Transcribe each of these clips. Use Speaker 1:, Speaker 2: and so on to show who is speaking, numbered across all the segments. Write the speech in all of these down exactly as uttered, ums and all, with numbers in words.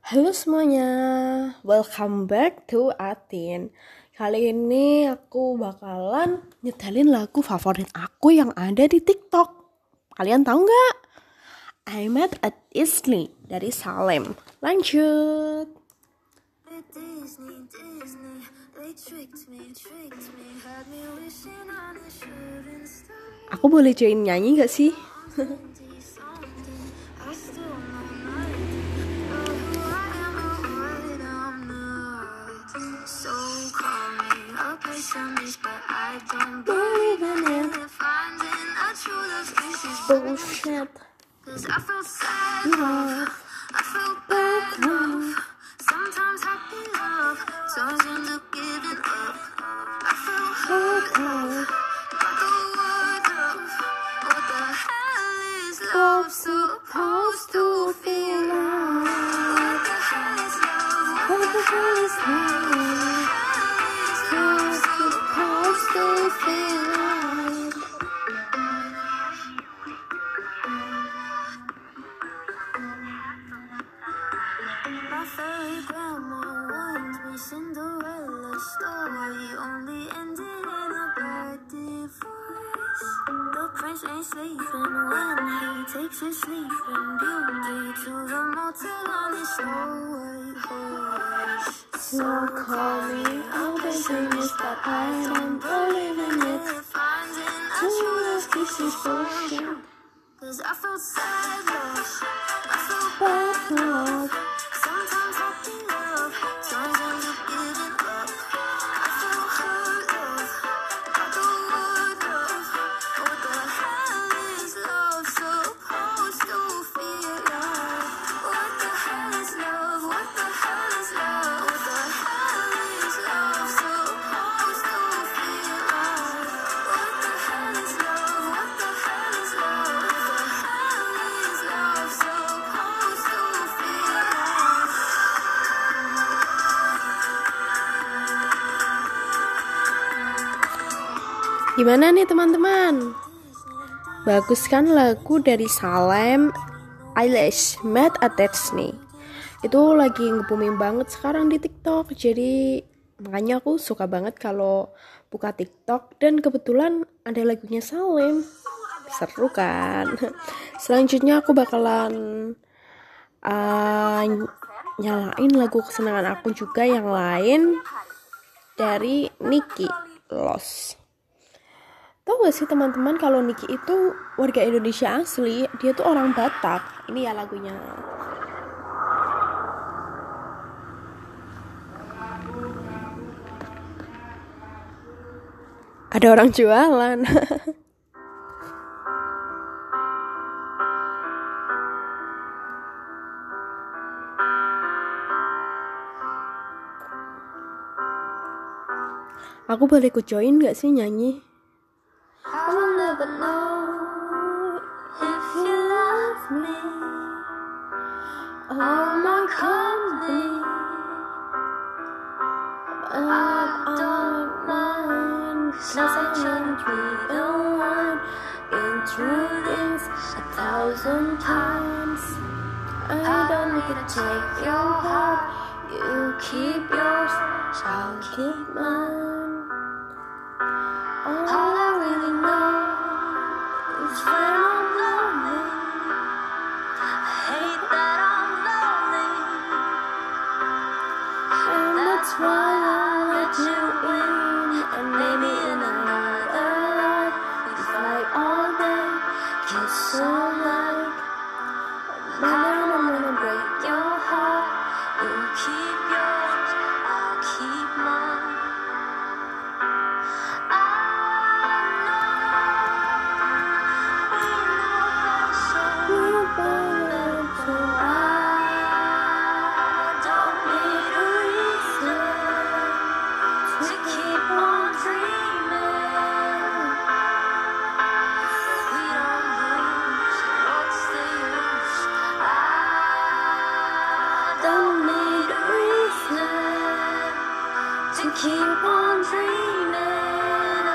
Speaker 1: Halo semuanya, welcome back to Atin. Kali ini aku bakalan nyetelin lagu favorit aku yang ada di TikTok. Kalian tahu nggak? I Met at Disney dari Salem. Lanjut. Aku boleh join nyanyi nggak sih?
Speaker 2: But I don't believe in it. Finding a true love is bullshit. Cause I felt sad love, I felt bad love, sometimes happy love, turns into giving up. I felt hurt love, got the word love. What the hell is love supposed to feel like? What the hell is love? What the hell is love? Love supposed to feel like. My fairy grandma warned me Cinderella story only ended in a bad divorce. The prince ain't sleeping when he takes his sleeping beauty to the motel on his snow white horse. So call me out the genius, but I don't believe in it. Finding a true love kiss is bullshit. Cause I felt sad love, I felt bad love, sometimes happy love turns into giving up. I felt hurt love, got the word love. What the hell is love supposed to feel like? What the hell is love? What the hell is love? What the hell is love supposed to feel like? What the hell is love? What the hell is love? What the hell is love supposed to feel like?
Speaker 1: Gimana nih teman-teman? Bagus kan lagu dari Salem, Eilish, Met at Disney. Itu lagi nge-booming banget sekarang di TikTok. Jadi makanya aku suka banget kalau buka TikTok. Dan kebetulan ada lagunya Salem. Seru kan? Selanjutnya aku bakalan uh, nyalain lagu kesenangan aku juga yang lain dari Niki, Lost. Tahu gak sih teman-teman kalau Niki itu warga Indonesia asli, dia tuh orang Batak. Ini ya lagunya. Ada orang jualan. Aku boleh ikut join gak sih nyanyi?
Speaker 2: I'll never know if you love me or my company, but I don't mind, 'cause I can't be the one. Been through this a thousand times. I don't need to take your heart, you keep yours, I'll keep mine. All I really know is when I'm lonely, I hate that I'm lonely, and that's why I let you in, and maybe in another life we fight all day, kiss all night, and then I'm gonna break your heart, you keep yours, I'll keep mine. Keep on dreaming,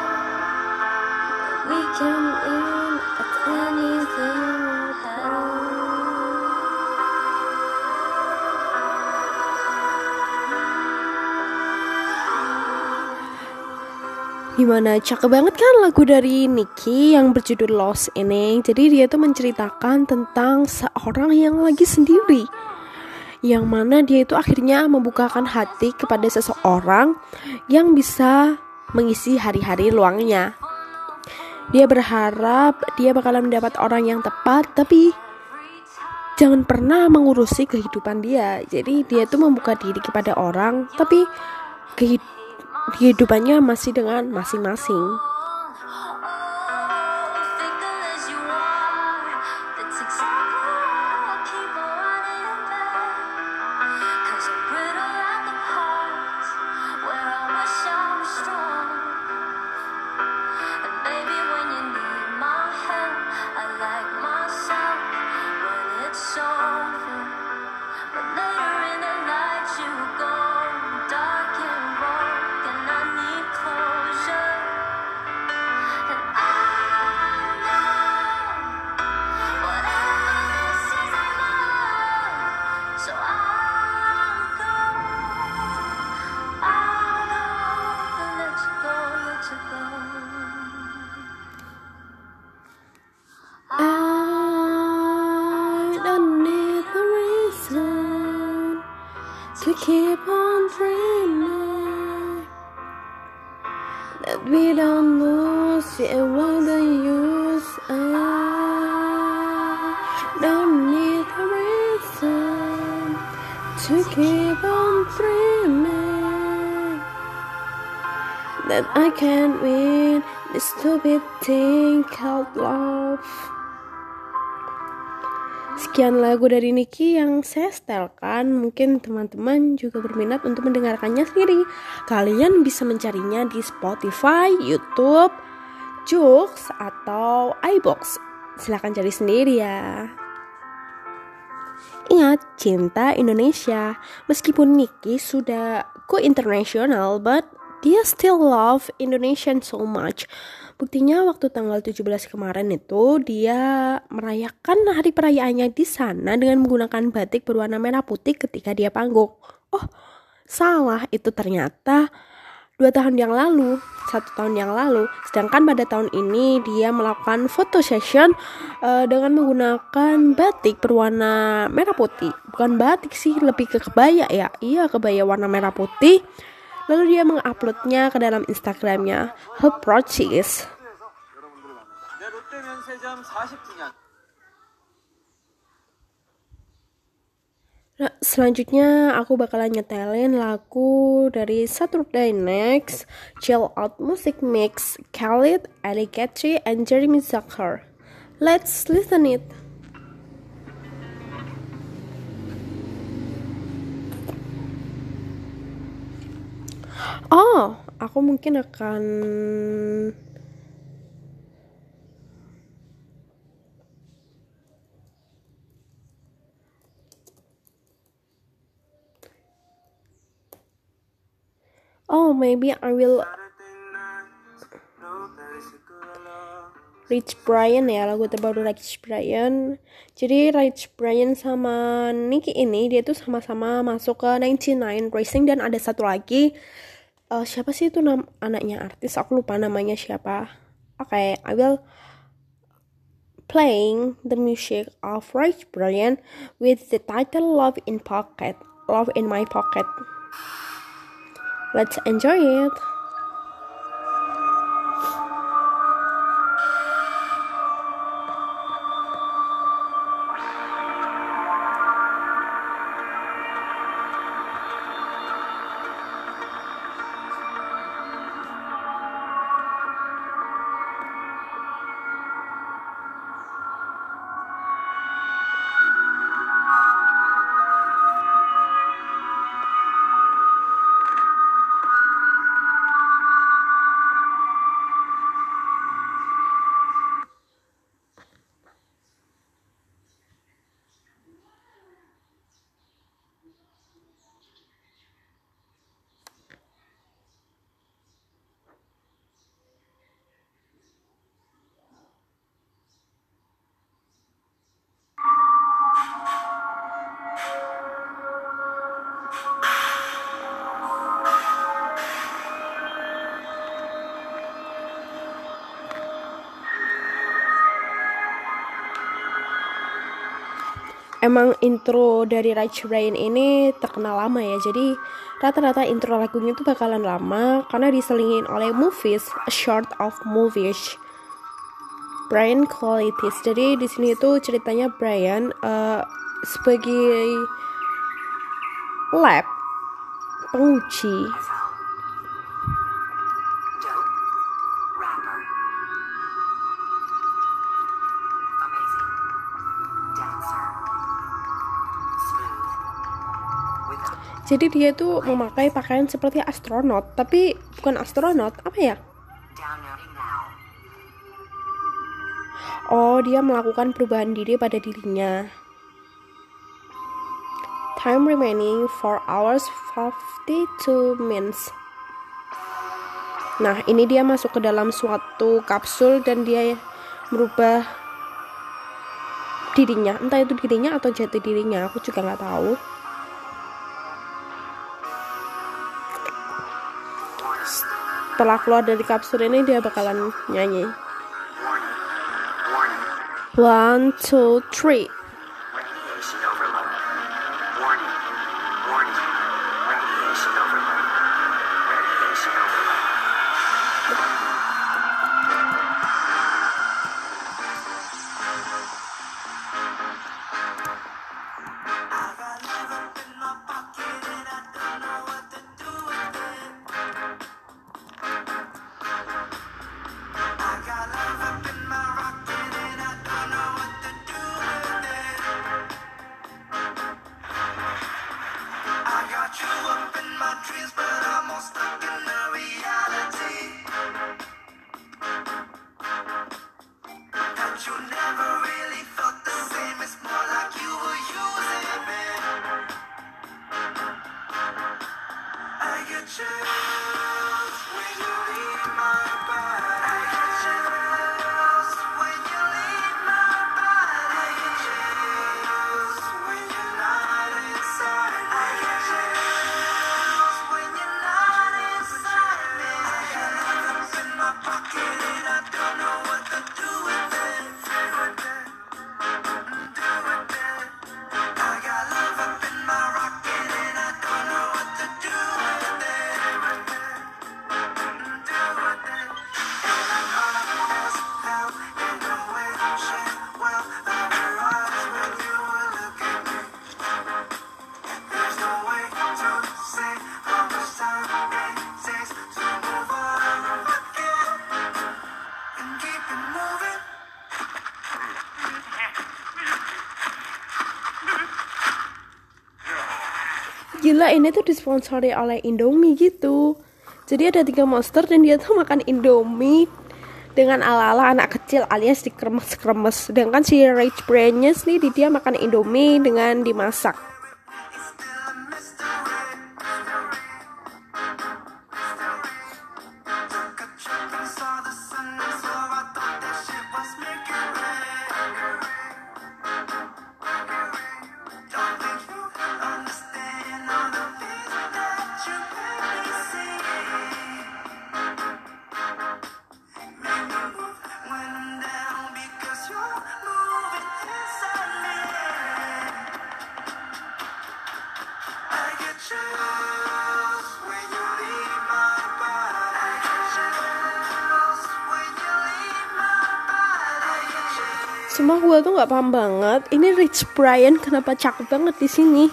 Speaker 2: we can aim at anything.
Speaker 1: Gimana, cakep banget kan lagu dari Nicki yang berjudul Lost ini. Jadi dia tuh menceritakan tentang seorang yang lagi sendiri, yang mana dia itu akhirnya membukakan hati kepada seseorang yang bisa mengisi hari-hari luangnya. Dia berharap dia bakalan mendapat orang yang tepat, tapi jangan pernah mengurusi kehidupan dia. Jadi dia tuh membuka diri kepada orang, tapi kehid- kehidupannya masih dengan masing-masing. To keep on dreaming that we don't lose it, what the use? I don't need a reason to keep on dreaming that I can't win this stupid thing called love. Sekian lagu dari Nicki yang saya setelkan. Mungkin teman-teman juga berminat untuk mendengarkannya sendiri. Kalian bisa mencarinya di Spotify, YouTube, Joox, atau iBox. Silahkan cari sendiri ya. Ingat, cinta Indonesia. Meskipun Nicki sudah go international, but dia still love Indonesian so much. Buktinya waktu tanggal tujuh belas kemarin itu dia merayakan hari perayaannya di sana dengan menggunakan batik berwarna merah putih ketika dia panggung. Oh, salah, itu ternyata dua tahun yang lalu, satu tahun yang lalu. Sedangkan pada tahun ini dia melakukan photo session uh, dengan menggunakan batik berwarna merah putih. Bukan batik sih, lebih ke kebaya ya. Iya, kebaya warna merah putih. Lalu dia menguploadnya ke dalam Instagramnya. Her Proces. Nah, selanjutnya aku bakalan nyetelin lagu dari Saturday Next, Chill Out Music Mix, Khalid, Ali Gatri, and Jeremy Zucker. Let's listen it. Oh, aku mungkin akan Oh, maybe I will Rich Brian ya, lagu terbaru Rich Brian. Jadi Rich Brian sama Nicki ini dia tuh sama-sama masuk ke sembilan puluh sembilan Racing, dan ada satu lagi uh, siapa sih itu nam- anaknya artis, aku lupa namanya siapa. Oke, okay, I will playing the music of Rich Brian with the title Love in Pocket, Love in My Pocket. Let's enjoy it. emang intro dari Rich Brian ini terkenal lama ya, jadi rata-rata intro lagunya itu bakalan lama karena diselingin oleh movies, a short of movies, Brian qualities. Jadi di sini itu ceritanya Brian uh, sebagai lab penguji jadi dia tuh memakai pakaian seperti astronot, tapi bukan astronot, apa ya? Oh, dia melakukan perubahan diri pada dirinya. Time remaining four hours fifty-two minutes. Nah, ini dia masuk ke dalam suatu kapsul dan dia merubah dirinya. Entah itu dirinya atau jati dirinya, aku juga nggak tahu. Setelah keluar dari kapsul ini dia bakalan nyanyi. One, two, three. Gila, ini tuh disponsori oleh Indomie gitu. Jadi ada tiga monster dan dia tuh makan Indomie dengan ala-ala anak kecil alias dikremes-kremes. Sedangkan si Rich Brian-nya nih dia makan Indomie dengan dimasak. Semua gue tuh nggak paham banget. Ini Rich Brian kenapa cakep banget di sini?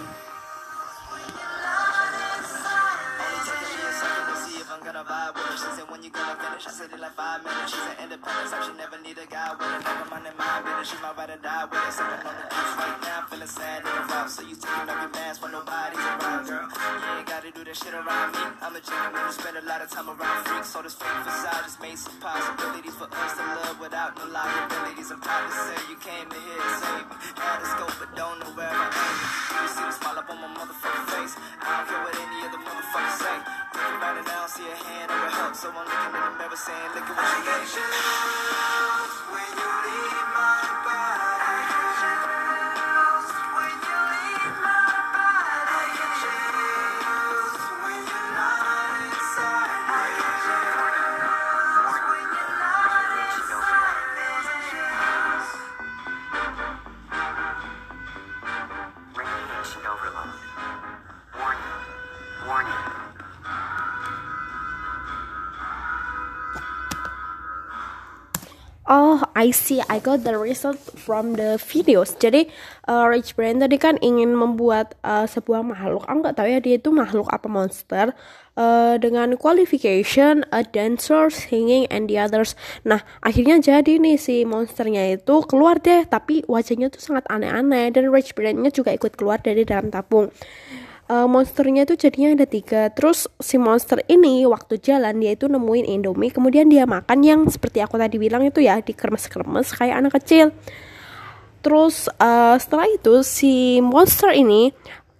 Speaker 1: I see, I got the result from the videos. Jadi uh, Rich Brian tadi kan ingin membuat uh, sebuah makhluk, aku nggak tahu ya dia itu makhluk apa monster, uh, dengan qualification a dancer, singing, and the others. Nah akhirnya jadi nih si monsternya itu keluar deh, tapi wajahnya tuh sangat aneh-aneh dan Rich Brian-nya juga ikut keluar dari dalam tabung. Uh, monsternya itu jadinya ada tiga. Terus si monster ini waktu jalan dia itu nemuin Indomie, kemudian dia makan yang seperti aku tadi bilang itu ya, dikremes-kremes kayak anak kecil. Terus uh, setelah itu si monster ini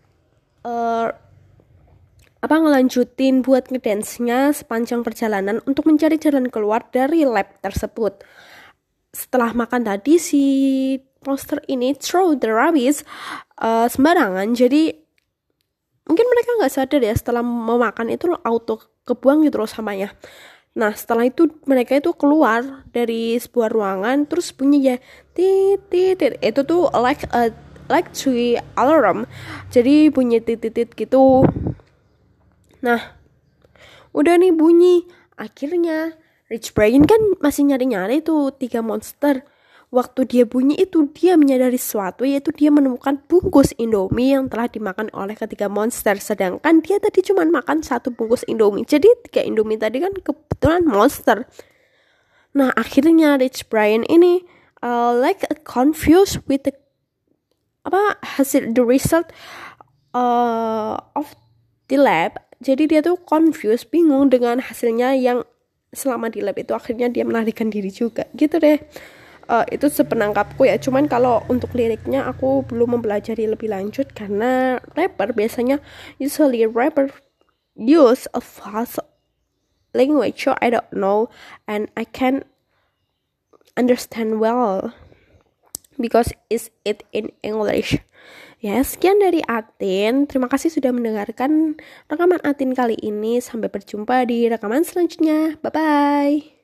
Speaker 1: uh, apa ngelanjutin buat ngedance-nya sepanjang perjalanan untuk mencari jalan keluar dari lab tersebut. Setelah makan tadi si monster ini throw the rabbits uh, sembarangan, jadi mungkin mereka nggak sadar ya, setelah memakan itu auto kebuang gitu loh samanya. Nah setelah itu mereka itu keluar dari sebuah ruangan, terus bunyi ya tit tit tit, itu tuh like a like tree alarm, jadi bunyi tit tit tit gitu. Nah udah nih bunyi, akhirnya Rich Brian kan masih nyari-nyari tuh tiga monster. Waktu dia bunyi itu dia menyadari sesuatu, yaitu dia menemukan bungkus Indomie yang telah dimakan oleh ketiga monster. Sedangkan dia tadi cuma makan satu bungkus Indomie. Jadi tiga Indomie tadi kan kebetulan monster. Nah akhirnya Rich Brian ini uh, like confused with the apa hasil the result uh, of the lab. Jadi dia tuh confused, bingung dengan hasilnya yang selama di lab itu. Akhirnya dia melarikan diri juga gitu deh. Uh, itu sepenangkapku ya, cuman kalau untuk liriknya aku belum mempelajari lebih lanjut karena rapper biasanya usually rapper use a fast language, so I don't know and I can understand well because is it in English. Ya, sekian dari Atin. Terima kasih sudah mendengarkan rekaman Atin kali ini. Sampai berjumpa di rekaman selanjutnya. Bye bye.